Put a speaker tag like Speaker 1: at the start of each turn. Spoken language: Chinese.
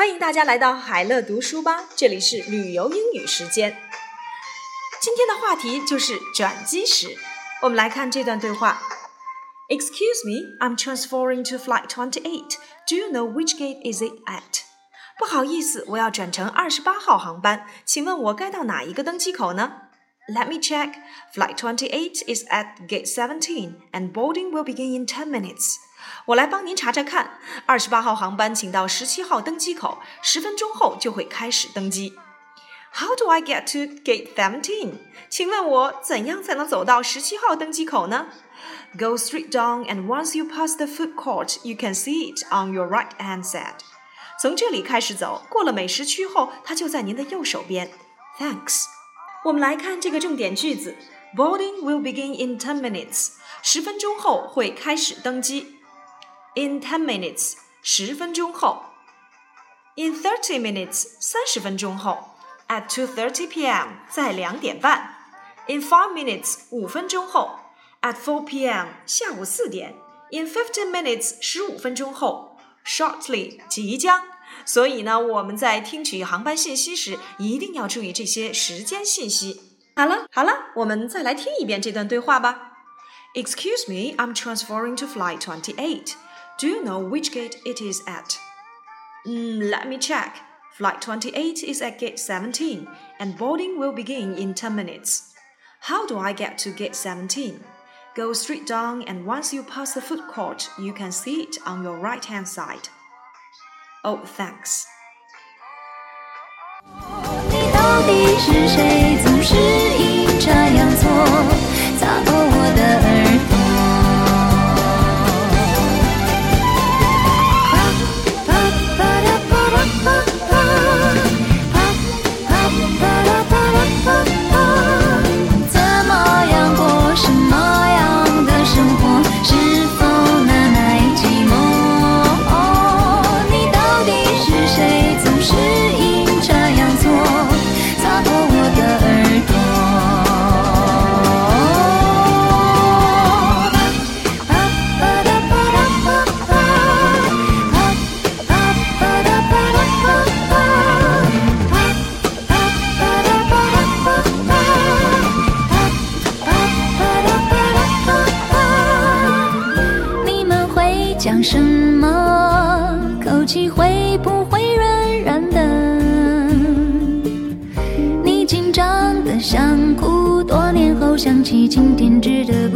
Speaker 1: 欢迎大家来到海乐读书吧，这里是旅游英语时间。今天的话题就是转机时，我们来看这段对话。Excuse me, I'm transferring to flight 28. Do you know which gate is it at? 不好意思，我要转乘28号航班，请问我该到哪一个登机口呢？ Let me check. Flight 28 is at gate 17 and boarding will begin in 10 minutes. 我来帮您查查看，28号航班请到17号登机口，10分钟后就会开始登机。How do I get to gate 17? 请问我怎样才能走到17号登机口呢？ Go straight down and once you pass the food court, you can see it on your right-hand side. 从这里开始走，过了美食区后，它就在您的右手边。Thanks. 我们来看这个重点句子 Boarding will begin in 10 minutes. 10分钟后会开始登机。In 10 minutes, 10分钟后。In 30 minutes, 30分钟后。At 2:30 p.m. 在2点半。In 5 minutes, 5分钟后。At 4 p.m. 下午4点。In 15 minutes, 15分钟后。Shortly, 即将。所以呢，我们在听取航班信息时，一定要注意这些时间信息。好了，我们再来听一遍这段对话吧。Excuse me, I'm transferring to flight 28.Do you know which gate it is at? Let me check. Flight 28 is at gate 17, and boarding will begin in 10 minutes. How do I get to gate 17? Go straight down, and once you pass the food court, you can see it on your right-hand side. Oh, thanks.
Speaker 2: 你到底是谁？总是阴差阳错，擦破我的耳朵。讲什么？口气会不会软软的？你紧张的想哭，多年后想起今天值得